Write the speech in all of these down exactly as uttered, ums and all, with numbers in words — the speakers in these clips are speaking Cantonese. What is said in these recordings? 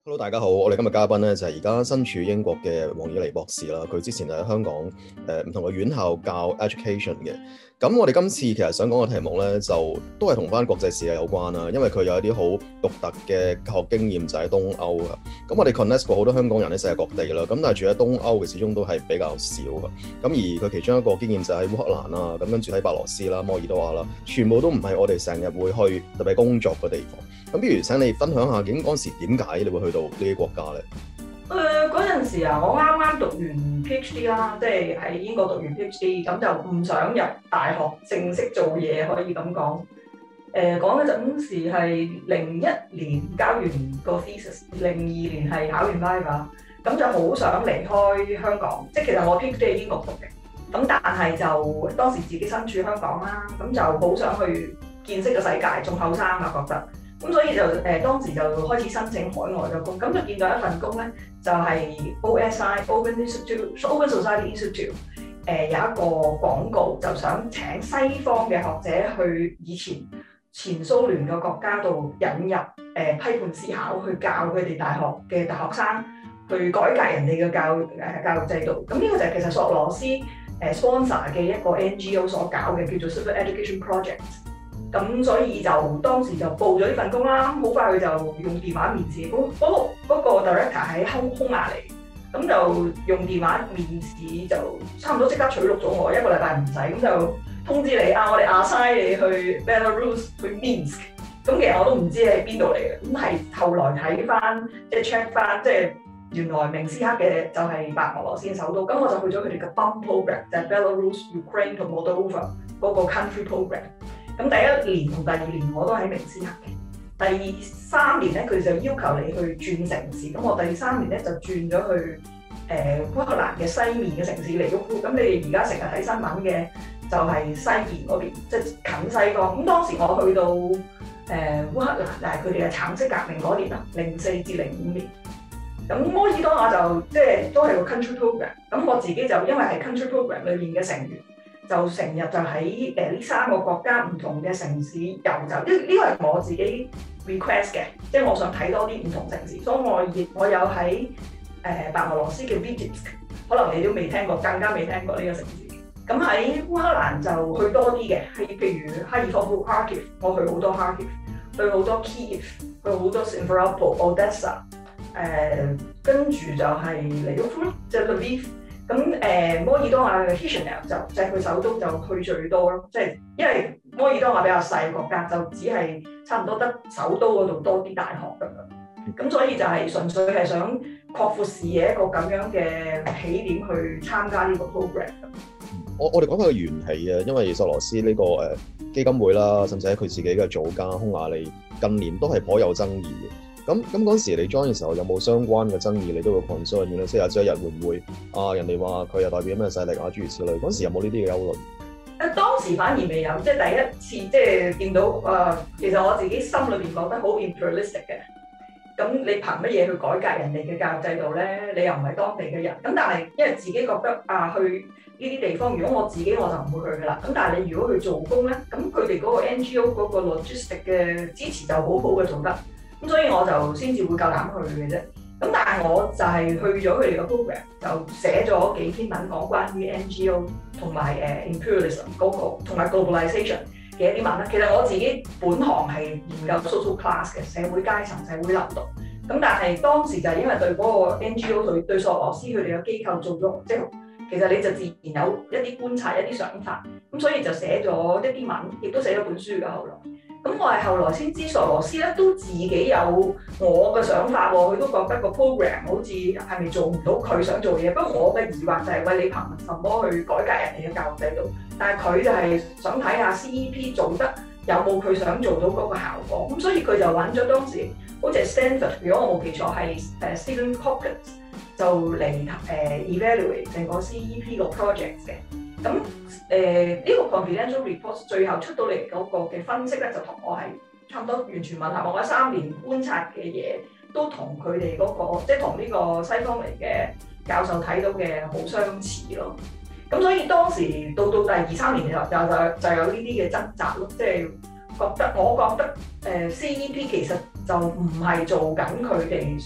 Hello，大家好，我哋今日嘉賓咧就係而家身處英國嘅黃以妮博士啦。佢之前就喺香港誒唔、呃、同嘅院校教 education 嘅。咁我哋今次其實想講嘅題目咧，就都係同翻國際視野有關啦。因為佢有一啲好獨特嘅教學經驗就喺東歐啊。咁我哋 connect 過好多香港人喺世界各地啦。咁但係住喺東歐嘅始終都係比較少嘅。咁而佢其中一個經驗就喺烏克蘭啦，咁跟住喺白羅斯啦、摩爾多瓦啦，全部都唔係我哋成日會去特別工作嘅地方。咁不如請你分享下，究竟嗰陣時點解你會去到呢啲國家咧？ 誒嗰陣時啊，我啱啱讀完 PhD 啦，即係喺英國讀完 PhD，咁就唔想入大學正式做嘢，可以咁講。誒講嗰陣時係零一年交完個 thesis，零二年係考完 Viva，咁就好想離開香港。即係其實我 PhD 喺英國讀嘅，咁但係就當時自己身處香港啦，咁就好想去見識個世界，仲後生啊覺得。咁所以就誒、呃、當時就開始申請海外嘅工，咁就見到一份工咧，就係、是、O S I Open Institute Open Society Institute，誒、呃、有一個廣告，就想請西方嘅學者去以前前蘇聯嘅國家度引入誒、呃、批判思考，去教佢哋大學嘅大學生去改革人哋嘅教誒、呃、教育制度。咁呢個就係其實索羅斯誒 sponsor 嘅一個 N G O 所搞嘅，叫做 Civil Education Project。咁所以就當時就報咗呢份工啦，好快佢就用電話面試。嗰嗰個嗰個 director 喺匈匈牙利，咁就用電話面試就差唔多即刻取錄咗我，一個禮拜唔使，咁就通知你啊，我哋 assign 你去 Belarus 去 Minsk。咁其實我都唔知喺邊度嚟嘅，咁係後來睇翻即係 check 翻，即係原來明斯克嘅就係白俄羅斯嘅首都。咁我就去咗佢哋嘅 B U M program，就係 Belarus、Ukraine 同 Moldova 嗰個 country program。咁第一年同第二年我都喺明斯克嘅，第三年咧佢就要求你去轉城市，咁我第三年咧就轉咗去誒烏、呃、克蘭嘅西面嘅城市嚟烏庫。咁你哋而家成日睇新聞嘅就係西面嗰邊，即係近西方。咁當時我去到誒烏、呃、克蘭，但係佢哋嘅橙色革命嗰年啊，零四至零五年。咁摩爾多瓦就即係都係個 country program。咁我自己就因為係 country program 裏面嘅成員。就成日就喺誒呢三個國家唔同嘅城市遊走，呢呢個係我自己 request 嘅，即係我想睇多啲唔同城市，所以我亦我有喺誒、呃、白俄羅斯嘅 Vitebsk， 可能你都未聽過，更加未聽過呢個城市。咁喺烏克蘭就去多啲嘅，係譬如哈爾科夫 Kharkiv， 我去好多 Kharkiv， 去好多 Kiev， 去好多 Simferopol、Odessa， 誒跟住就係嚟到 Lviv， 即係 Lviv。咁誒、呃、摩爾多瓦嘅 Chisinau 就就係佢首都，就去最多咯。即係因為摩爾多瓦比較細嘅國家，就只係差唔多得首都嗰度多啲大學咁樣。咁所以就係純粹係想擴闊視野一個咁樣嘅起點去參加呢個 program。 我我哋講下個緣起啊，因為索羅斯呢、這個誒、呃、基金會啦，甚至喺佢自己嘅祖家匈牙利近年都係頗有爭議嘅。咁咁嗰時你 join 嘅時候有冇相關嘅爭議？你都會 concern 嘅咧，即係有朝一日會唔會啊？人哋話佢又代表咩勢力啊？諸如此類。嗰時有冇呢啲嘅憂慮？ 誒當時反而未有，即係第一次即係見到誒、呃，其實我自己心裏邊覺得好 imperialistic 嘅。咁你憑乜嘢去改革人哋嘅教育制度咧？你又唔係當地嘅人。咁但係因為自己覺得啊，去呢啲地方，如果我自己我就唔會去噶啦。咁但係你如果去做工咧，咁佢哋嗰個 N G O 嗰個 logistic 嘅支持就好好嘅做得。咁所以我就先至會夠膽去嘅啫。咁但係我就係去咗佢哋個 program，就寫咗幾篇文講關於 N G O 同埋誒 imperialism 嗰個同埋 globalization 嘅一啲文啦。其實我自己本行係研究 social class 嘅社會階層、社會流動。咁但係當時就係因為對嗰個 N G O 對對索羅斯佢哋嘅機構做咗，即係其實你就自然有一啲觀察、一啲想法。咁所以就寫咗一啲文，亦都寫咗本書嘅後來。咁我係後來先知索羅斯咧都自己有我嘅想法喎，佢都覺得個 program 好似係咪做唔到佢想做嘢。不過我嘅疑惑就係、是、喂，你憑什麼去改革人哋嘅教育制度？但係佢就係想睇下 C E P 做得有冇佢想做到嗰個效果。咁所以佢就揾咗當時好似係 Stanford， 如果我冇記錯係誒 Stephen Hawkins 就嚟誒、呃、evaluate 成個 C E P 個 project 嘅。咁誒呢個 confidential report 最後出到嚟嗰個嘅分析咧，就同我係差唔多完全吻合。我嗰三年觀察嘅嘢都同佢哋嗰個，即係同呢個西方嚟嘅教授睇到嘅好相似咯。咁所以當時到到第二三年就就就就有呢啲嘅掙扎咯，即係覺得我覺得誒 C E P 其實就唔係做緊佢哋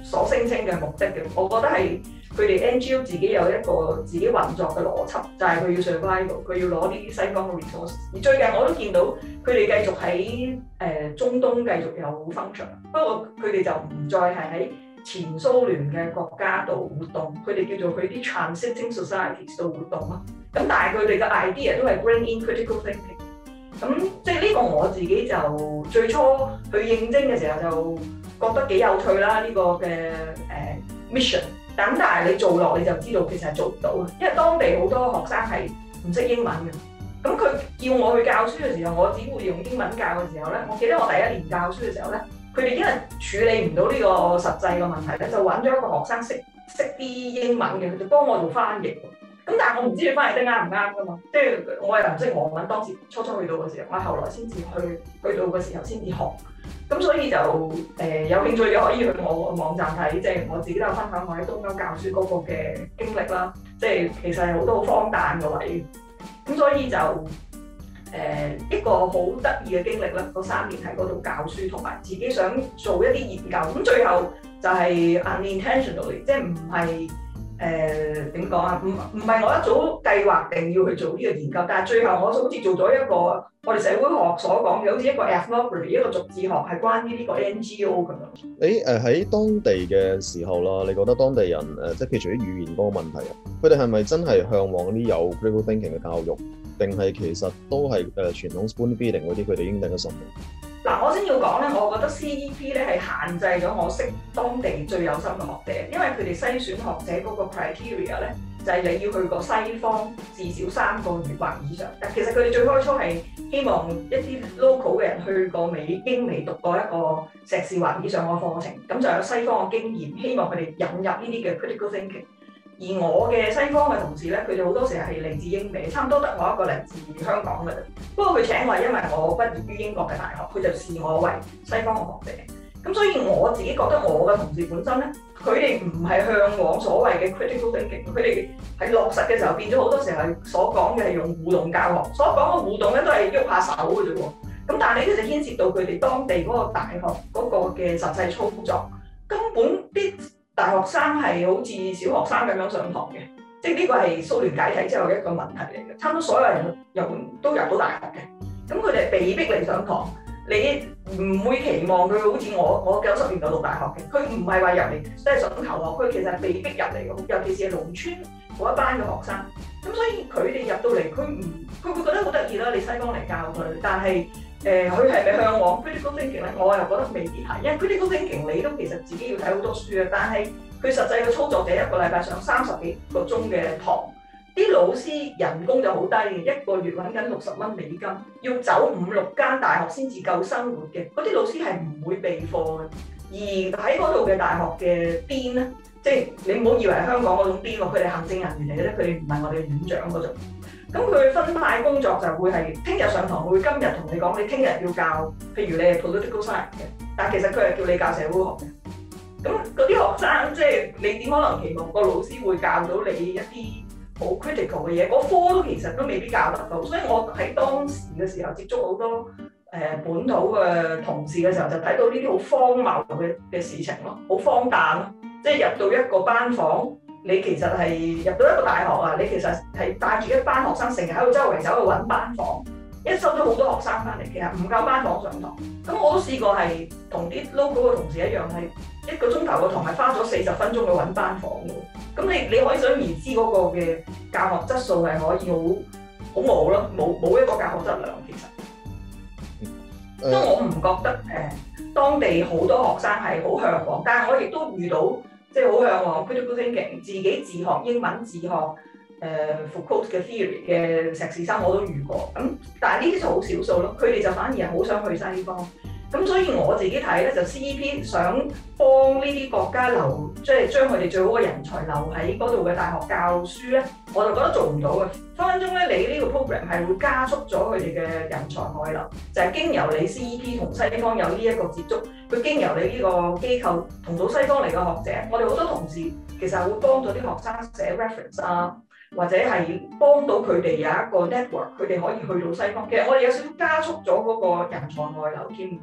所聲稱嘅目的嘅。我覺得係佢哋 N G O 自己有一個自己運作嘅邏輯，就係、是、佢要 survival，佢要攞呢啲西方嘅 resource。而最近我都見到佢哋繼續喺誒、呃、中東繼續有 function，不過佢哋就唔再係喺前蘇聯嘅國家度活動，佢哋叫做去啲 transiting societies 度活動咯。咁但係佢哋嘅 idea 都係 bring in critical thinking。咁即係呢個我自己就最初去應徵嘅時候就覺得幾有趣啦，呢、這個嘅誒、呃、mission。咁但係你做落你就知道其實係做唔到嘅，因為當地好多學生係唔識英文嘅。咁佢叫我去教書嘅時候，我只會用英文教嘅時候咧，我記得我第一年教書嘅時候咧，佢哋因為處理唔到呢個實際嘅問題咧，就揾咗一個學生識識啲英文嘅，佢就幫我做翻譯。咁但係我唔知佢翻譯得啱唔啱㗎嘛，即係我又唔識俄文，當時初初去到嘅時候，我後來先至去去到嘅時候先至學。咁所以就誒、呃、有興趣嘅可以去我個網站睇，即、就、係、是、我自己都有分享我喺東歐教書嗰個嘅經歷啦。即係其實係好多好荒誕嘅位，咁所以就誒、呃、一個好得意嘅經歷啦。嗰三年喺嗰度教書，同埋自己想做一啲研究。咁最後就係 unintentionally，即係唔係。誒點講啊？唔唔係我一早計劃定要去做呢個研究，但係最後我好似做咗一個我哋社會學所講嘅，好似一個 ethnography 一個族志學，係關於呢個 N G O 咁樣。 誒誒喺當地嘅時候啦，你覺得當地人誒即係譬如啲語言嗰個問題啊，佢哋係咪真係向往啲有 critical thinking 嘅教育，定係其實都係誒傳統 spoon feeding 嗰啲佢哋已經定咗神？ 嗱，我先要講咧，我覺得 C E P 咧係限制咗我識當地最有心嘅學者，因為佢哋篩選學者嗰個 criteria 咧，就係、是、你要去過西方至少三個月或以上。但其實佢哋最開初係希望一啲 local 嘅人去過美英美讀過一個碩士或以上嘅課程，咁就有西方嘅經驗，希望佢哋引入呢啲嘅 critical thinking。而我嘅西方嘅同事咧，佢哋好多時係嚟自英美，差唔多得我一個嚟自香港嘅。不過佢請我係因為我畢業於英國嘅大學，佢就視我為西方嘅學者。咁所以我自己覺得我嘅同事本身咧，佢哋唔係向往所謂嘅 critical thinking，佢哋喺落實嘅時候變咗好多時候係所講嘅係用互動教學，所講嘅互動咧都係喐下手嘅啫喎。咁但係呢啲就牽涉到佢哋當地嗰個大學嗰個嘅實際操作，根本啲大學生係好似小學生咁樣上堂嘅，即係呢個係蘇聯解體之後嘅一個問題嚟嘅。差唔多所有人入都入到大學嘅，咁佢哋被逼嚟上堂，你唔會期望佢好似我我九十年代讀大學嘅，佢唔係話入嚟即係想求學，佢其實係被逼入嚟嘅，尤其是係農村嗰一班嘅學生。咁所以佢哋入到嚟，佢唔佢會覺得好得意啦，你西方嚟教佢，但係誒佢係咪向往 critical thinking 咧？我又覺得未必係，因為 critical thinking 你都其實自己要睇好多書啊，但係佢實際嘅操作就一個禮拜上三十幾個鐘嘅堂，啲老師人工就好低嘅，一個月揾緊六十蚊美金，要走五六間大學先至夠生活嘅，嗰啲老師係唔會備課嘅，而喺嗰度嘅大學嘅 Dean 咧。即係你唔好以為香港嗰種邊喎，佢哋行政人員嚟嘅啫，佢哋唔係我哋院長嗰種。咁佢分派工作就會係聽日上堂，會今日同你講，你聽日要教，譬如你係 political science 嘅，但係其實佢係叫你教社會學嘅。咁嗰啲學生即係你點可能期望個老師會教到你一啲好 critical 嘅嘢？嗰科都其實都未必教得到。所以我喺當時嘅時候接觸好多誒、呃、本土嘅同事嘅時候，就睇到呢啲好荒謬嘅嘅事情咯，好荒誕咯。即係入到一個班房，你其實係入到一個大學啊！你其實係帶住一班學生，成日喺度周圍走去揾班房，一收咗好多學生翻嚟，其實唔夠班房上堂。咁我都試過係同啲 local 嘅同事一樣，係一個鐘頭嘅堂係花咗四十分鐘去揾班房嘅。咁你你可以想而知嗰個嘅教學質素係可以好好冇咯，冇冇一個教學質量其實。因為我唔覺得誒、呃、當地好多學生係好向往，但係我亦都遇到。即係好向往 critical thinking，自己自學英文、自學誒 Foucault 嘅 theory 嘅碩士生我都遇過，咁但係呢啲就好少數咯，佢哋就反而係好想去西方。咁所以我自己睇咧，就 C E P 想幫呢啲國家留，即係將佢哋最好嘅人才留喺嗰度嘅大學教書咧，我就覺得做唔到嘅。分分鐘咧，你呢個 program 係會加速咗佢哋嘅人才外流，就係、是、經由你 C E P 同西方有呢一個接觸，佢經由你呢個機構同到西方嚟嘅學者，我哋好多同事其實係會幫咗啲學生寫 reference 啊，或者係幫到佢哋有一個 network，佢哋可以去到西方。其實我哋有少少加速咗嗰個人才外流添。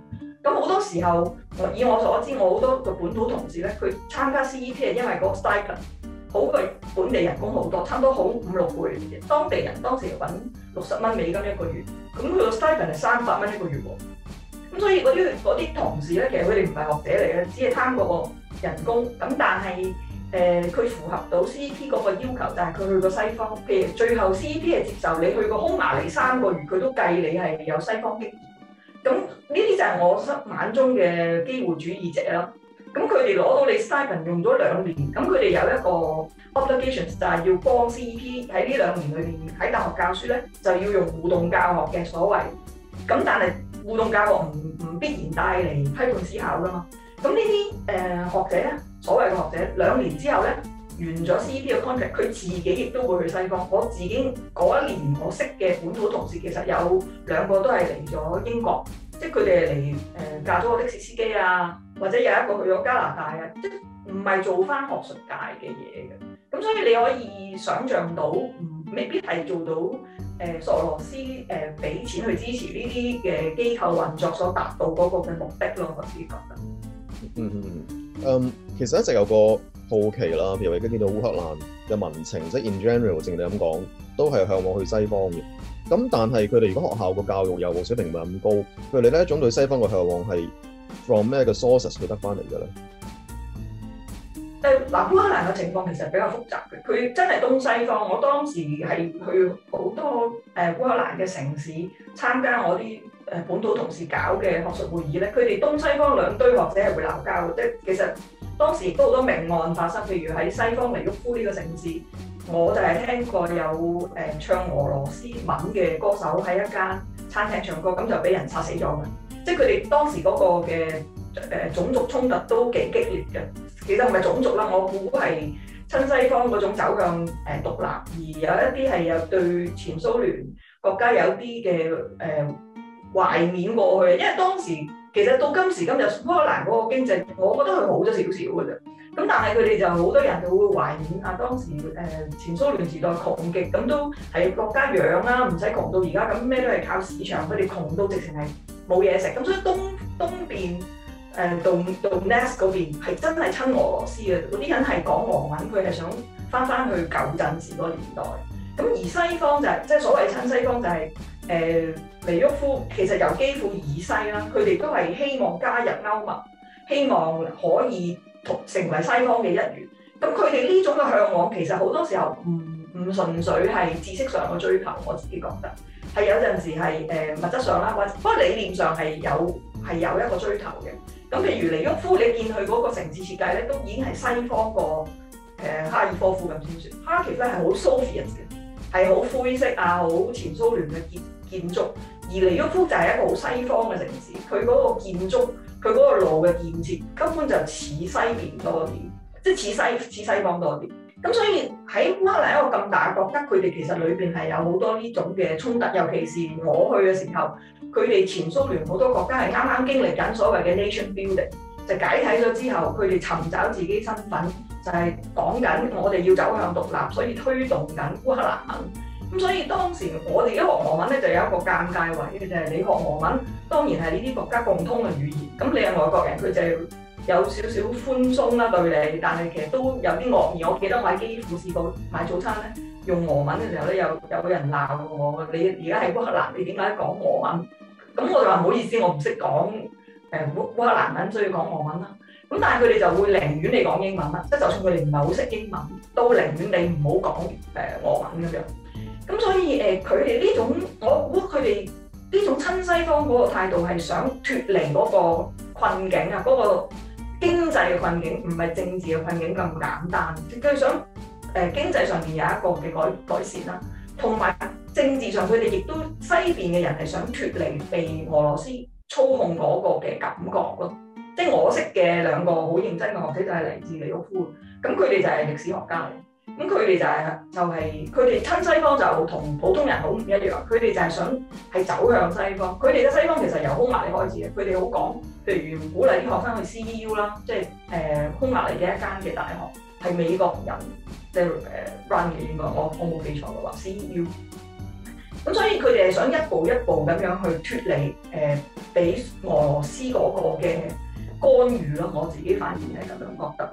咁好多時候，我以我所知，我好多個本土同事咧，佢參加 C E P 係因為嗰個 stipend 好過本地人工好多，差唔多好五六倍。當地人當時揾六十蚊美金一個月，咁佢個 stipend 係三百蚊一個月喎。咁所以嗰啲嗰啲同事咧，其實佢哋唔係學者嚟嘅，只係貪嗰個人工。咁但係誒，佢、呃、符合到 C E P 嗰個要求，就係佢去過西方。譬如最後 C E P 係接受你去過匈牙利三個月，佢都計你係有西方經驗。咁呢啲就係我眼中嘅機會主義者啦。咁佢哋攞到你 stipend 用咗兩年，咁佢哋有一個 obligation 就係要幫 C E P 喺呢兩年裏面喺大學教書咧，就要用互動教學嘅所謂。咁但係互動教學唔唔必然帶嚟批判思考噶嘛。咁呢啲誒學者咧，所謂嘅學者，兩年之後咧完咗 C E P 嘅 contract，佢自己亦都會去西方。我自己嗰一年我識嘅本土同事，其實有兩個都係嚟咗英國。即係佢哋嚟誒嫁咗個的士司機啊，或者有一個去咗加拿大啊，即係唔係做翻學術界嘅嘢嘅。咁所以你可以想像到，唔未必係做到誒、呃、索羅斯誒俾、呃、錢去支持呢啲嘅機構運作所達到嗰個嘅目的咯。我自己覺得。 嗯嗯嗯。嗯，其實一直有個好奇啦，譬如而家見到烏克蘭嘅民情，即係 in general，正你咁講，都係向往去西方嘅。咁但係佢哋如果學校個教育又冇水平唔係咁高，佢哋呢一種對西方嘅向往係 from 咩嘅 sources 佢得翻嚟嘅咧？ 誒嗱，烏克蘭嘅情況其實比較複雜嘅，佢真係東西方。我當時係去好多誒烏克蘭嘅城市參加我啲誒本土同事搞嘅學術會議咧，佢哋東西方兩堆學者係會鬧交嘅，即係其實當時亦都好多命案發生，譬如喺西方尼沃夫呢個城市。我就係聽過有誒、呃、唱俄羅斯文嘅歌手喺一間餐廳唱歌，咁就俾人殺死咗嘅。即係佢哋當時嗰個嘅誒、呃、種族衝突都幾激烈嘅。其實唔係種族啦，我估係親西方嗰種走向誒獨立，而有一啲係有對前蘇聯國家有啲嘅誒懷緬過去。因為當時其實到今時今日烏克蘭嗰個經濟，我覺得佢好咗少少嘅啫。咁但係佢哋就好多人就會懷念啊，當時誒、呃、前蘇聯時代窮極，咁都係國家養啦，唔使窮到而家咁，咩都係靠市場。佢哋窮到直情係冇嘢食，咁所以東東邊誒到到 Donetsk 嗰邊係真係親俄羅斯嘅，嗰啲人係講俄文，佢係想翻翻去舊陣時嗰個年代。咁而西方就係、是、即係所謂親西方就係、是、誒、呃、尼沃夫，其實由基輔以西啦，佢哋都係希望加入歐盟，希望可以成為西方嘅一員，咁佢哋呢種嘅向往其實好多時候唔唔純粹係知識上嘅追求，我自己覺得係有陣時係誒、呃、物質上啦，或者不過理念上係有係有一個追求嘅。咁譬如尼沃夫，你見佢嗰個城市設計咧，都已經係西方個誒、呃、哈爾科夫咁先算。哈爾科夫係好 Soviet 嘅，係好灰色啊，好前蘇聯嘅建建築，而尼沃夫就係一個好西方嘅城市，佢嗰個建築。佢嗰個路嘅建設根本就似西邊多啲，即係似西似西方多啲。咁所以喺烏克蘭一個咁大嘅國家，佢哋其實裏邊係有好多呢種嘅衝突。尤其是我去嘅時候，佢哋前蘇聯好多國家係啱啱經歷緊所謂嘅 nation building，就解體咗之後，佢哋尋找自己身份，就係講緊我哋要走向獨立，所以推動緊烏克蘭文。咁所以當時我哋一學俄文咧，就有一個尷尬位嘅，就係你學俄文，當然係呢啲國家共通嘅語言。咁你係外國人，佢就有少少寬鬆啦對你，但係其實都有啲惡意。我記得我喺基輔試過買早餐咧，用俄文嘅時候咧，有有個人鬧我，你而家喺烏克蘭，你點解講俄文？咁我就話唔好意思，我唔識講誒烏烏克蘭文，所以講俄文啦。咁但係佢哋就會寧願你講英文啦，即係就算佢哋唔係好識英文，都寧願你唔好講誒俄文咁樣。咁所以誒，佢哋呢種我估佢哋呢種親西方嗰個態度係想脫離嗰個困境啊，嗰、嗰個經濟嘅困境，唔係政治嘅困境咁簡單。佢想誒、呃、經濟上面有一個嘅改改善啦，同埋政治上佢哋亦都西邊嘅人係想脫離被俄羅斯操控嗰個嘅感覺咯。即係我識嘅兩個好認真嘅學者就係嚟自尼沃夫，咁佢哋就係歷史學家嚟。咁佢哋就係、是、就係佢哋親西方就同普通人好唔一樣，佢哋就係想係走向西方。佢哋嘅西方其實由匈牙利開始嘅，佢哋好講，譬如鼓勵啲學生去 C E U 啦，即係誒匈牙利嘅一間嘅大學，係美國人即係誒 run 嘅應該，我我冇記錯嘅話 C E U。 咁所以佢哋係想一步一步咁樣去脫離誒俾俄羅斯嗰個嘅干預咯。我自己反而係咁樣覺得。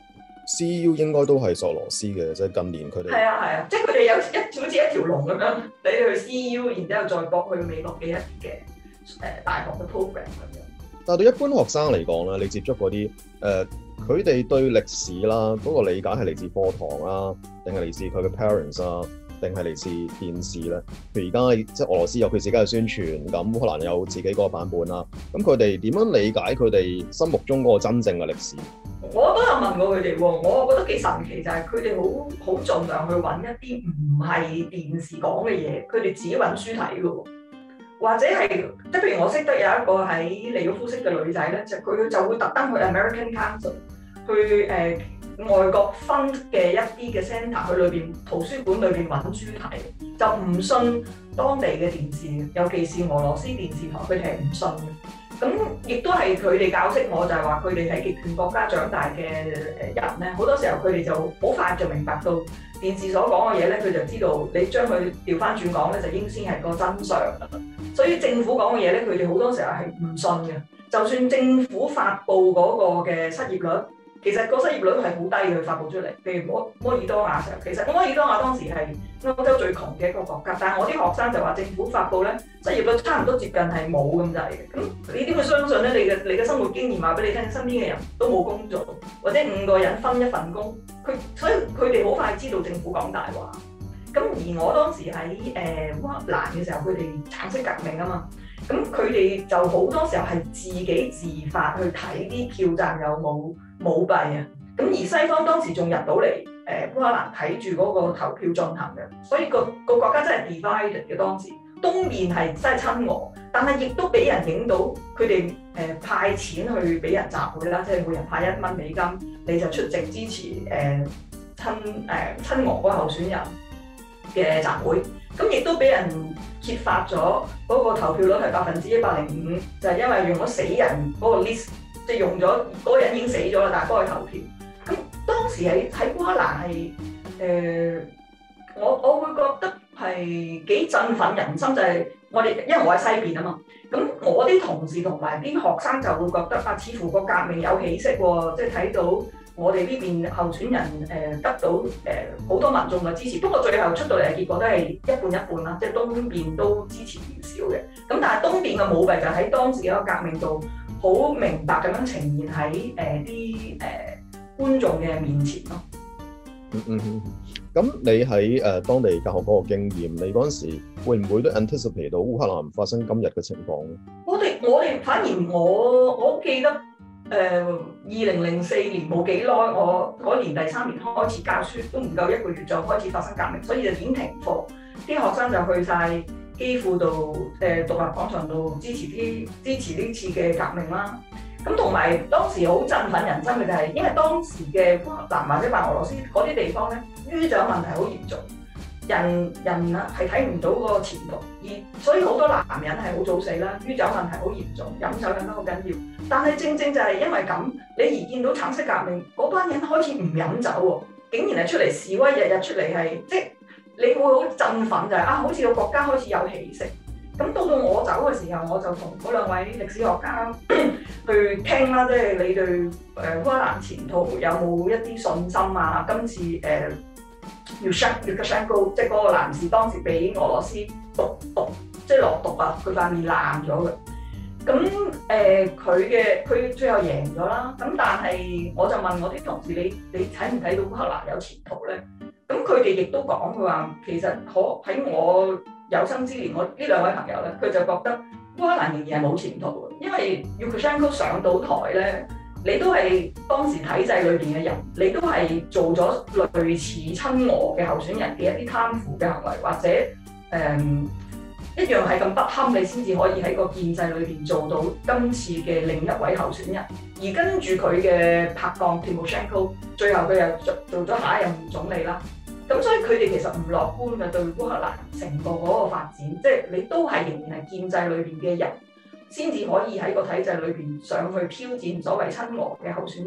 C E U 應該都係索羅斯嘅，即係近年佢哋係啊係啊，即係佢哋有一好似一條龍咁樣，你去 C E U，然之後再駁去美國嘅一啲嘅誒大學嘅 program 咁樣。 但係對一般學生嚟講咧，你接觸嗰啲誒，佢、呃、哋對歷史啦嗰、嗰個理解係嚟自課堂啊，定係嚟自佢嘅 parents 啊，定係嚟自電視咧？譬如而家即係俄羅斯有佢自己嘅宣傳，咁烏克蘭有自己嗰個版本啦。咁佢哋點樣理解佢哋心目中嗰個真正嘅歷史？ 我都有問過佢哋喎，我覺得幾神奇，就係佢哋好好盡量去揾一啲唔係電視講嘅嘢，佢哋自己揾書睇嘅喎，或者係即係譬如我識得有一個喺利沃夫識嘅女仔咧，就佢就會特登去 American Council 去誒、呃、外國分嘅一啲嘅 centre 去裏邊圖書館裏邊揾書睇，就唔信當地嘅電視，尤其是俄羅斯電視台，佢哋係唔信嘅。咁亦都係佢哋教識我，就係話佢哋喺極權國家長大嘅誒人咧，好多時候佢哋就好快就明白到電視所講嘅嘢咧，佢就知道你將佢調翻轉講咧，就應先係個真相啦。所以政府講嘅嘢咧，佢哋好多時候係唔信嘅。就算政府發布嗰個嘅失業率，其實個失業率係好低嘅，佢發布出嚟。譬如摩摩爾多瓦時候，其實摩爾多瓦當時係歐洲最窮嘅一個國家，但係我啲學生就話政府發布咧，失業率差唔多接近係冇咁滯嘅。咁你點會相信咧？你嘅你嘅生活經驗話俾你聽，身邊嘅人都冇工作，或者五個人分一份工，佢所以佢哋好快知道政府講大話。咁而我當時喺誒烏克蘭嘅時候，佢哋橙色革命啊嘛，咁佢哋就好多時候係自己自發去睇啲票站有冇舞弊啊。咁而西方當時仲入到嚟誒烏克蘭睇住嗰個投票進行嘅，所以個個國家真係 divided 嘅當時。東面係真係親俄，但係亦都俾人影到佢哋誒派錢去俾人集會啦，即係每人派一蚊美金，你就出席支持誒、呃、親誒、呃、親俄嗰個候選人嘅集會。咁亦都俾人揭發咗嗰個投票率係百分之一百零五，就係、是、因為用咗死人嗰個 list，即係用咗嗰個人已經死咗啦，但係幫佢投票。咁當時喺喺烏克蘭係誒，我我會覺得係幾振奮人心，就係、是、我哋因為我喺西邊啊嘛，咁我啲同事同埋啲學生就會覺得啊，似乎個革命有起色喎，即係睇到我哋呢邊候選人誒、呃、得到誒好、呃、多民眾嘅支持。不過最後出到嚟嘅結果都係一半一半啦，即係東邊都支持唔少嘅。咁但係東邊嘅舞弊就喺當時嘅革命度好明白咁樣呈現喺誒啲誒觀眾嘅面前咯。 嗯嗯嗯。咁你喺誒、呃、當地教學嗰個經驗，你嗰陣時會唔會都 anticipate 到烏克蘭發生今日嘅情況咧？我哋我哋反而我我記得誒二零零四年冇幾耐，我嗰年第三年開始教書，都唔夠一個月就開始發生革命，所以就已經停課，啲學生就去晒基輔度誒獨立廣場度支持啲支持呢次嘅革命啦。咁同埋當時好振奮人心嘅就係，因為當時嘅烏克蘭或者白俄羅斯嗰啲地方咧，酗酒問題好嚴重，人人啊係睇唔到個前途，而所以好多男人係好早死啦。酗酒問題好嚴重，飲酒飲得好緊要。但係正正就係因為咁，你而見到橙色革命嗰班人開始唔飲酒喎，竟然係出嚟示威，日日出嚟係即係你會好振奮就係、是、啊，好似個國家開始有起色。咁到到我走嘅時候，我就同嗰兩位歷史學家去傾啦，即係你對誒烏克蘭前途有冇一啲信心啊？今次誒要 shut 要 shut go， 即係嗰個男士當時俾俄羅斯毒毒，即係落毒啊，佢塊面爛咗嘅。咁誒佢嘅佢最後贏咗啦。咁但係我就問我啲同事，你你睇唔睇到烏克蘭有前途咧？咁佢哋亦都講佢話，其實可喺我有生之年，我呢兩位朋友咧，佢就覺得烏克蘭仍然係冇前途嘅，因為 Lukashenko 上到台咧，你都係當時體制裏邊嘅人，你都係做咗類似親俄嘅候選人嘅一啲貪腐嘅行為，或者誒、嗯、一樣係咁不堪，你先至可以喺個建制裏邊做到今次嘅另一位候選人。而跟住佢嘅拍檔 Tymoshenko， 最後佢又做做咗下一任總理啦。咁所以佢哋其實唔樂觀嘅對烏克蘭成個嗰個發展，即係你都係仍然係建制裏邊嘅人，先至可以喺個體制裏邊上去挑戰所謂親俄嘅候選人。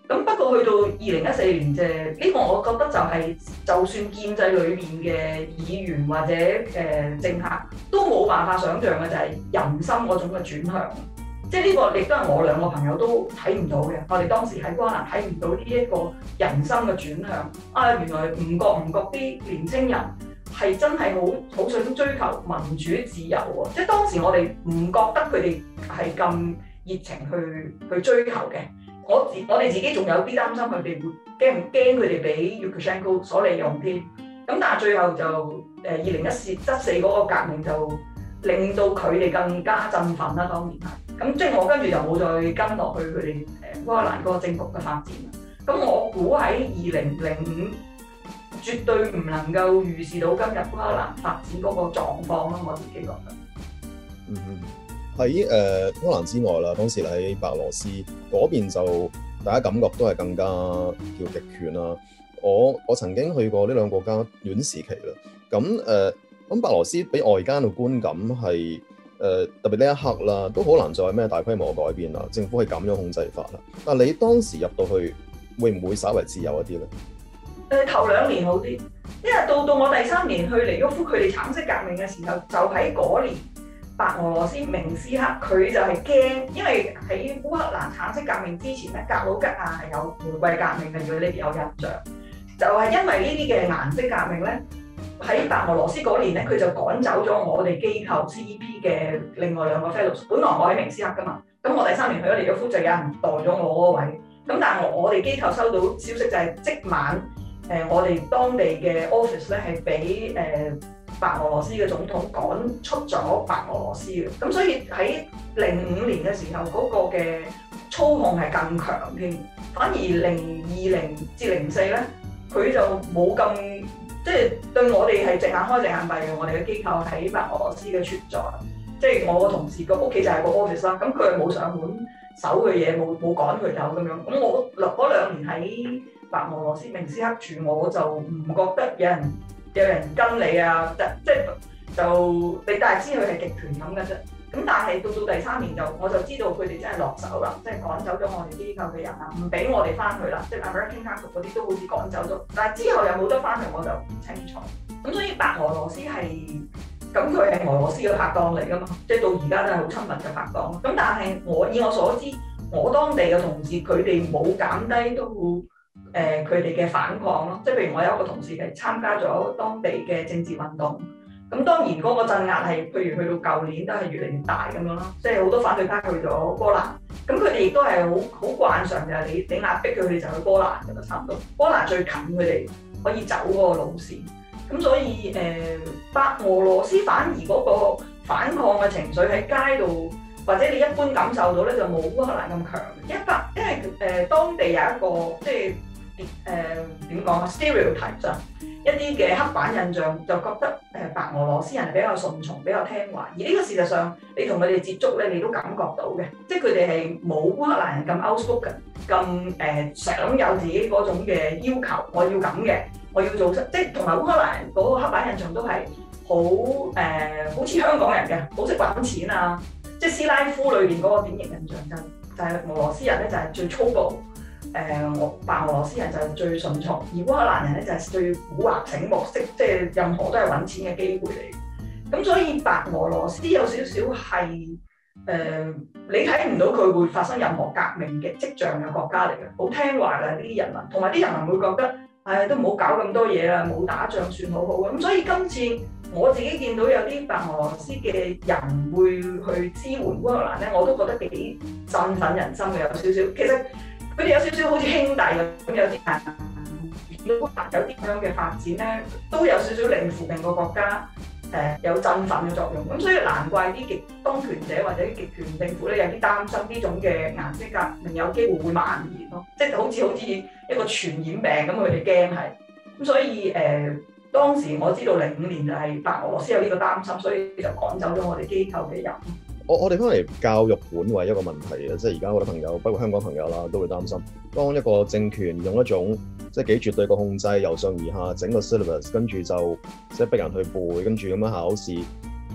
咁不過去到二零一四年啫，呢、這個我覺得就係、是、就算建制裏面嘅議員或者誒、呃、政客都冇辦法想像嘅就係人心嗰種嘅轉向。即係呢個亦都係我兩個朋友都睇唔到嘅。我哋當時喺瓜蘭睇唔到呢一個人心嘅轉向。啊，原來唔覺唔覺啲年青人係真係好好想追求民主自由喎。即係當時我哋唔覺得佢哋係咁熱情去去追求嘅。我自我哋自己仲有啲擔心佢哋會驚唔驚佢哋俾 Lukashenko 所利用添。咁但係最後就誒二零一四嗰個革命就令到佢哋更加振奮啦。當然係。咁即係我跟住就冇再跟落去佢哋誒烏克蘭嗰個政局嘅發展啦。咁我估喺二零零五絕對唔能夠預示到今日烏克蘭發展嗰個狀況咯。我自己覺得。 嗯嗯。喺誒烏克蘭之外啦，當時喺白俄羅斯嗰邊就大家感覺都係更加叫極權啦。我我曾經去過呢兩個國家短時期啦。咁誒，咁、呃、白俄羅斯俾外間嘅觀感係。誒、呃、特別呢一刻啦，都好難再有咩大規模嘅改變啦。政府係咁樣控制法啦。但係你當時入到去，會唔會稍為自由一啲咧？誒、 呃、頭兩年好啲，因為到到我第三年去尼沃夫，佢哋橙色革命嘅時候，就喺嗰年白俄羅斯明斯克佢就係驚，因為喺烏克蘭橙色革命之前咧，格魯吉亞係有玫瑰革命嘅，如果你哋有印象，就係、是、因為呢啲嘅顏色革命咧。喺白俄羅斯嗰年咧，佢就趕走咗我哋機構 C E P 嘅另外兩個 fellows。本來我喺明斯克噶嘛，咁我第三年去咗尼沃夫就有人代咗我嗰個位。咁但係我我哋機構收到消息就係即晚，誒、呃、我哋當地嘅 office 咧係俾誒白俄羅斯嘅總統趕出咗白俄羅斯嘅。咁所以喺零五年嘅時候，嗰、那個嘅操控係更強添。反而零二零至零四咧，佢就冇咁。即係對我哋係隻眼開隻眼閉嘅，我哋嘅機構喺白俄羅斯嘅存在，即係我個同事個屋企就係個 office 啦，咁佢係冇上門守佢嘢，冇冇趕佢走咁樣。咁我嗰兩年喺白俄羅斯明斯克住，我就唔覺得有人有人跟你啊，即即就你大致知佢係極權咁嘅啫。咁但係到到第三年就我就知道佢哋真係落手啦，即係趕走咗我哋機構嘅人啦，唔俾我哋翻去啦，即係 American Council 嗰啲都好似趕走咗，但係之後有冇得翻去我就唔清楚。咁所以白俄羅斯係咁佢係俄羅斯嘅拍檔嚟㗎嘛，即係到而家都係好親密嘅拍檔。咁但係我以我所知，我當地嘅同事佢哋冇減低到誒佢哋嘅反抗咯，即係譬如我有一個同事係參加咗當地嘅政治運動。咁當然嗰個鎮壓係，譬如去到舊年都係越嚟越大咁樣咯，即係好多反對派去咗波蘭，咁佢哋亦都係好好慣常就係你你壓迫佢哋就去波蘭㗎啦，差唔多。波蘭最近佢哋可以走嗰個路線，咁所以誒、呃、白俄羅斯反而嗰個反抗嘅情緒喺街度，或者你一般感受到咧就冇烏克蘭咁強，因為因為誒、呃、當地有一個即係誒點講啊 stereotype 上。一啲嘅刻板印象就覺得誒白俄羅斯人比較順從、比較聽話，而呢個事實上你同佢哋接觸咧，你都感覺到嘅，即係佢哋係冇烏克蘭人咁 outspoken、咁誒想有自己嗰種嘅要求，我要咁嘅，我要做即係同埋烏克蘭人嗰個刻板印象都係好誒，好似香港人嘅，好識揾錢啊，即係斯拉夫裏邊嗰個典型印象就就係俄羅斯人咧就係最粗暴。誒，我、呃、白俄羅斯人就係最順從，而烏克蘭人咧就係最蠱惑醒目式，即係任何都係揾錢嘅機會嚟。咁所以白俄羅斯有少少係誒，你睇唔到佢會發生任何革命嘅跡象嘅國家嚟嘅，好聽話嘅呢啲人民，同埋啲人民會覺得，唉、哎，都唔好搞咁多嘢啦，冇打仗算好好嘅。咁所以今次我自己見到有啲白俄羅斯嘅人會去支援烏克蘭咧，我都覺得幾振奮人心嘅，有少少其實。佢哋有少少好似兄弟咁，有啲人有啲咁樣嘅發展咧，都有少少令附近個國家誒、呃、有振奮嘅作用。咁所以難怪啲極當權者或者極權政府咧有啲擔心呢種嘅顏色革命有機會會蔓延咯，即係好似好似一個傳染病咁，佢哋驚係。咁所以誒、呃、當時我知道零五年就係白俄羅斯有呢個擔心，所以就趕走咗我哋機構嘅人。 我我哋翻嚟教育本位一個問題啊，即係而家好多朋友，包括香港朋友啦，都會擔心，當一個政權用一種即係幾絕對嘅控制，由上而下整個 syllabus，跟住就即係逼人去背，跟住咁樣考試，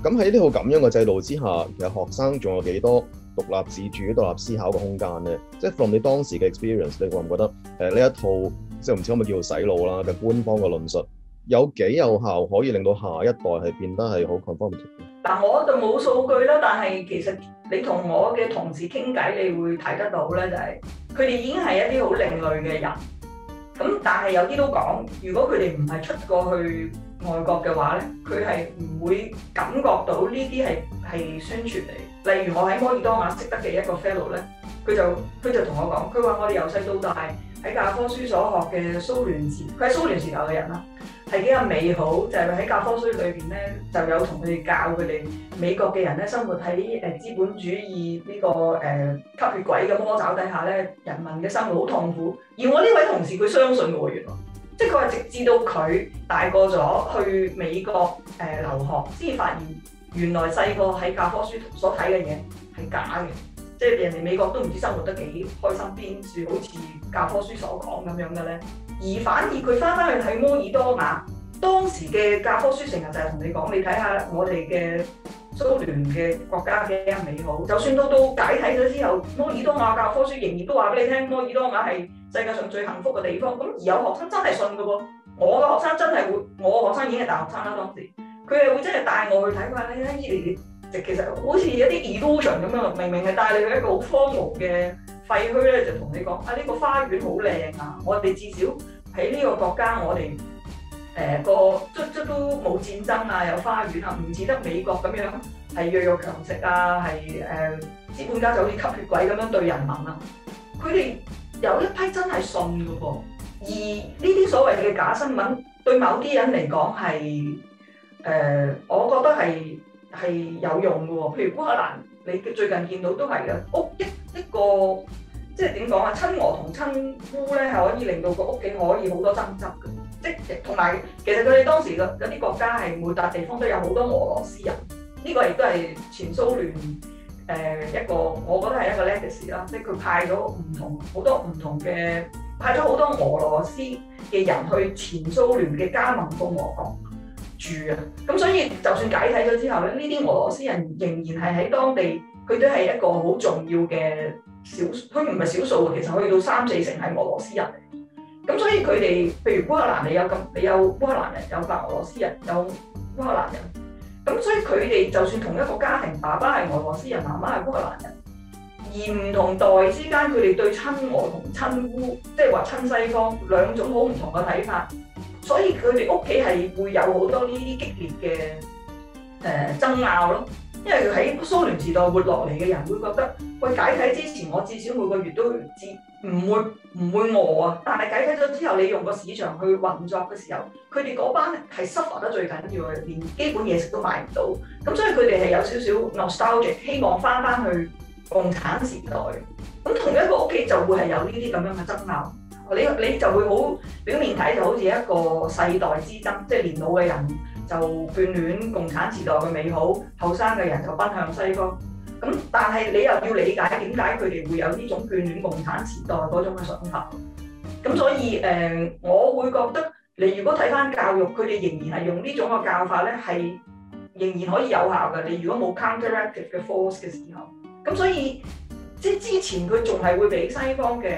咁喺呢個咁樣嘅制度之下，其實學生仲有幾多獨立自主、獨立思考嘅空間咧？即係 from 你當時嘅 experience，你覺唔覺得誒呢一套即係唔知可唔可以叫做洗腦啦嘅官方嘅論述，有幾有效可以令到下一代係變得係好 conformative？嗱， 我就冇數據啦，但係其實你同我嘅同事傾偈，你會睇得到咧，就係佢哋已經係一啲好另類嘅人。咁但係有啲都講，如果佢哋唔係出過去外國嘅話咧，佢係唔會感覺到呢啲係係宣傳嚟。例如我喺摩爾多瓦識得嘅一個 fellow 咧，佢就佢就同我講，佢話我哋由細到大喺教科書所學嘅蘇聯時，佢係蘇聯時代嘅人啦，係幾咁美好，就係喺教科書裏邊咧就有同佢哋教佢哋美國嘅人咧生活喺誒資本主義呢、這個誒、呃、吸血鬼嘅魔爪底下咧，人民嘅生活好痛苦。而我呢位同事佢相信嘅喎，原來即係佢話直至到佢大個咗去美國誒、呃、留學，先至發現原來細個喺教科書所睇嘅嘢係假嘅，即係人哋美國都唔知生活得幾開心，邊處好似教科書所講咁樣嘅咧。而反而佢翻返去睇摩爾多瓦，當時嘅教科書成日就係同你講，你睇下我哋嘅蘇聯嘅國家幾咁美好。就算到到解體咗之後，摩爾多瓦教科書仍然都話俾你聽，摩爾多瓦係世界上最幸福嘅地方。咁而有學生真係信㗎喎，我嘅學生真係會，我嘅學生已經係大學生啦當時，佢係會真係帶我去睇，佢話你睇伊犁，其實好似有啲 illusion 咁樣，明明係帶你去一個好荒蕪嘅廢墟咧，就同你講啊呢、這個花園好靚啊，我哋至少喺呢個國家我哋。誒、呃、個卒卒都冇戰爭啊，有花園啊，唔似得美國咁樣係弱肉強食啊，係誒、呃、資本家就好似吸血鬼咁樣對人民啊。佢哋有一批真係信㗎噃，而呢啲所謂嘅假新聞對某啲人嚟講係誒，我覺得係係有用㗎喎。譬如烏克蘭，你最近見到都係嘅，屋一一個即係點講啊？親俄同親烏咧係可以令到個屋企可以好多爭執嘅。即同埋，其實佢哋當時嘅嗰啲國家係每笪地方都有好多俄羅斯人，呢、這個亦都係前蘇聯誒、呃、一個，我覺得係一個 legacy 啦。即係佢派咗唔同好多唔同嘅，派咗好多俄羅斯嘅人去前蘇聯嘅加盟共和國住啊。咁所以就算解體咗之後咧，呢啲俄羅斯人仍然係喺當地，佢都係一個好重要嘅少，佢唔係少數，其實去到三四成係俄羅斯人。咁所以佢哋，譬如烏克蘭，你有咁，你有烏克蘭人，有白俄羅斯人，有烏克蘭人。咁所以佢哋就算同一個家庭，爸爸係俄羅斯人，媽媽係烏克蘭人，而唔同代之間，佢哋對親俄同親烏，即係話親西方兩種好唔同嘅睇法。所以佢哋屋企係會有好多呢啲激烈嘅誒、呃、爭拗咯。因為喺蘇聯時代活落嚟嘅人會覺得，喂，解體之前我至少每個月都至唔會唔會餓啊，但係解體咗之後，你用個市場去運作嘅時候，佢哋嗰班係 suffer 得最緊要嘅，連基本嘢食都買唔到。咁所以佢哋係有少少 nostalgia，希望翻翻去共產時代。咁同一個屋企就會係有呢啲咁樣嘅爭拗，你你就會好表面睇就好似一個世代之爭，即係年老嘅人就眷戀共產時代嘅美好，後生嘅人就奔向西方。咁但係你又要理解點解佢哋會有呢種眷戀共產時代嗰種嘅想法。咁所以誒、呃，我會覺得你如果睇翻教育，佢哋仍然係用呢種嘅教法咧，係仍然可以有效嘅。你如果冇 counteractive 嘅 force 嘅時候，咁所以即係之前佢仲係會俾西方嘅誒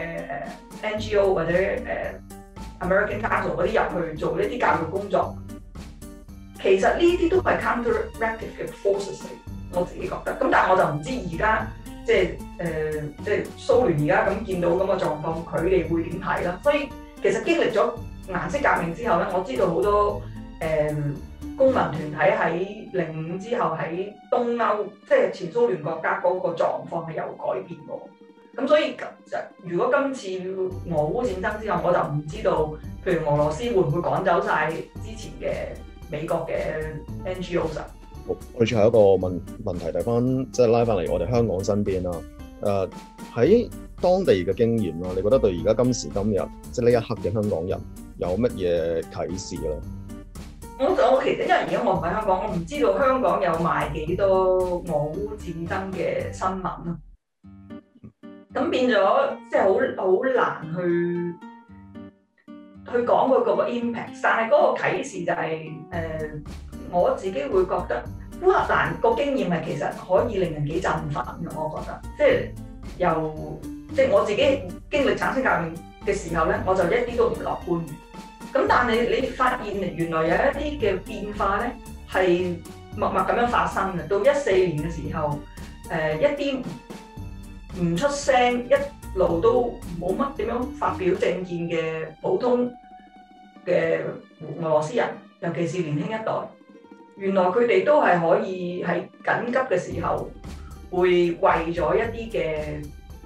N G O 或者誒 American Council 嗰啲入去做呢啲教育工作。其實呢啲都係 counteractive 嘅 forces 嚟，我自己覺得。咁但係我就唔知而家即係誒、呃、即係蘇聯而家咁見到咁嘅狀況，佢哋會點睇啦？所以其實經歷咗顏色革命之後咧，我知道好多誒、呃、公民團體喺零五之後喺東歐，即係前蘇聯國家嗰個狀況係有改變喎。咁所以就如果今次俄烏戰爭之後，我就唔知道，譬如俄羅斯會唔會趕走晒之前嘅美國嘅 N G O 啊？ 我哋最後一個問問題，睇翻即係拉翻嚟我哋香港身邊啦。誒、呃、喺當地嘅經驗啦，你覺得對而家今時今日即係呢一刻嘅香港人有乜嘢啟示咧？ 我我其實因為而家我唔喺香港，我唔知道香港有賣幾多俄烏戰爭嘅新聞啊。咁變咗即係好好難去去講佢嗰個 impact，但係嗰個啟示就係、是、誒、呃、我自己會覺得烏克蘭個經驗係其實可以令人幾振奮嘅，我覺得，即係由即係我自己經歷橙色革命嘅時候咧，我就一啲都唔樂觀嘅。咁但係你發現原來有一啲嘅變化咧，係默默咁樣發生嘅。到一四年嘅時候，誒、呃、一啲唔出聲，一路都冇乜點樣發表政見嘅普通嘅俄羅斯人，尤其是年輕一代。原來佢哋都係可以喺緊急嘅時候，會為咗一啲嘅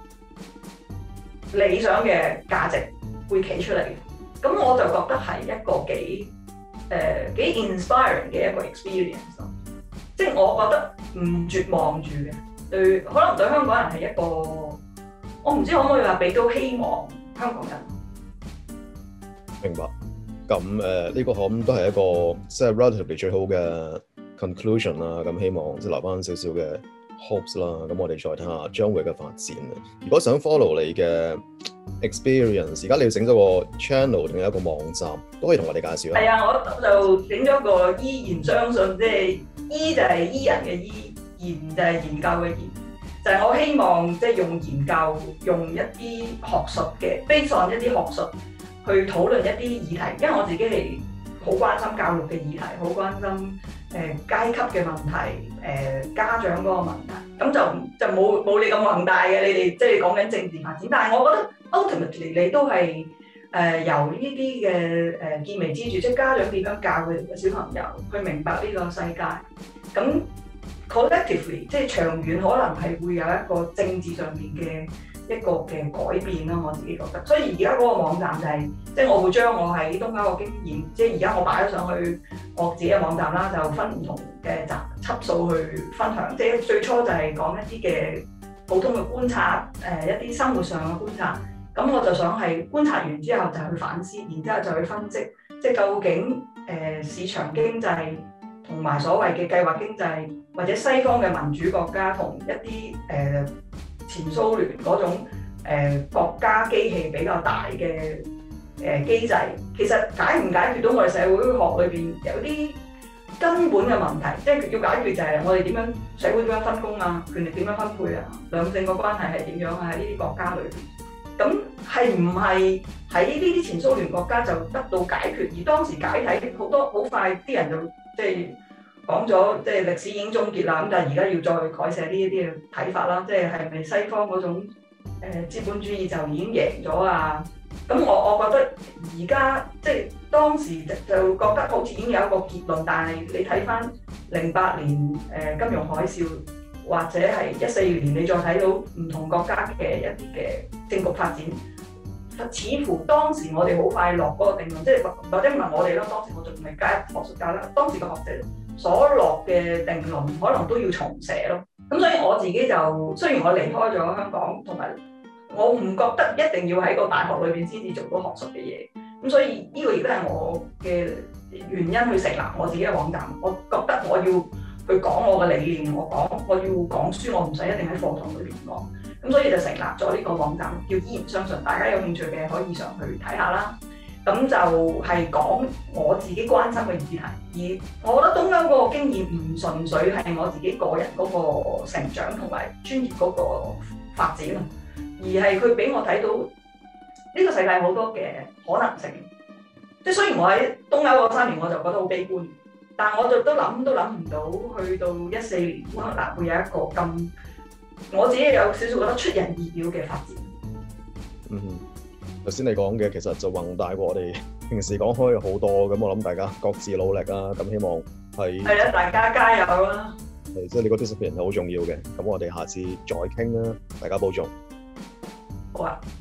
理想嘅價值會企出嚟。咁我就覺得係一個幾誒幾 inspiring 嘅一個 experience 咯。即係我覺得唔絕望住嘅，對可能對香港人係一個，我唔知可唔可以話俾到希望香港人。 明白。咁誒呢個可能都係一個即係 relatively 最好嘅 conclusion 啦。咁希望即係留翻少少嘅 hopes 啦。咁我哋再睇下將會嘅發展啊。如果想 follow 你嘅 experience，而家你要整咗個 channel 定係一個網站，都可以同我哋介紹下。 係啊，我就整咗個依然相信，即係依就係依人嘅依，研就係研究嘅研，就係、是、我希望即係用研究，用一啲學術嘅 based on 一啲學術。去討論一啲議題，因為我自己係好關心教育嘅議題，好關心誒、呃、階級嘅問題，誒、呃、家長嗰個問題，咁就就冇冇你咁宏大嘅，你哋即係講緊政治發展，但係我覺得 ultimately 你都係誒、呃、由呢啲嘅誒見微知著，即係家長點樣教佢哋嘅小朋友去明白呢個世界，咁 collectively 即係長遠可能係會有一個政治上面嘅一個嘅改變啦，我自己覺得。所以而家嗰個網站就係、是，即係我會將我喺東歐嘅經驗，即係而家我擺咗上去我自己嘅網站啦，就分唔同嘅集輯數去分享。即係最初就係講一啲嘅普通嘅觀察，誒、呃、一啲生活上嘅觀察。咁我就想係觀察完之後就去反思，然之後就去分析，即係究竟誒、呃、市場經濟同埋所謂嘅計劃經濟，或者西方嘅民主國家同一啲誒、呃前蘇聯嗰種誒、呃、國家機器比較大嘅誒機制，其實解唔解決到我哋社會學裏邊有啲根本嘅問題，即係要解決就係我哋點樣社會點樣分工啊，權力點樣分配啊，兩性嘅關係係點樣啊？喺呢啲國家裏邊，咁係唔係喺呢啲前蘇聯國家就得到解決？而當時解體好多好快，啲人就即係。講咗即係歷史已經終結啦，咁但係而家要再改寫呢一啲嘅睇法啦，即係係咪西方嗰種誒、呃、資本主義就已經贏咗啊？咁我我覺得而家即係當時就覺得好似已經有一個結論，但係你睇翻零八年誒、呃、金融海嘯，或者係一四年你再睇到唔同國家嘅一啲嘅政局發展，似乎當時我哋好快落嗰個定論，即係或者唔係我哋啦，當時我仲未加入學術界啦，當時嘅學者所落嘅定論可能都要重寫咯。咁所以我自己就雖然我離開咗香港，同埋我唔覺得一定要喺個大學裏邊先至做到學術嘅嘢。咁所以呢個亦都係我嘅原因去成立我自己嘅網站。我覺得我要去講我嘅理念，我講我要講書，我唔使一定喺課堂裏邊講。咁所以就成立咗呢個網站，叫依然相信。大家有興趣嘅可以上去睇下啦。咁就係講我自己關心嘅議題，而我覺得東歐嗰個經驗唔純粹係我自己個人嗰個成長同埋專業嗰個發展啊，而係佢俾我睇到呢個世界好多嘅可能性。即係雖然我喺東歐嗰三年我就覺得好悲觀，但我就都諗都諗唔到去到一四年烏克蘭會有一個咁，我自己有少少覺得出人意料嘅發展。 嗯。頭先你講嘅其實就宏大過我哋平時講開好多，咁我諗大家各自努力啦，咁希望係係啊，大家加油啦！ 係即係你個 discipline 係好重要嘅，咁我哋下次再傾啦，大家保重。 好啊。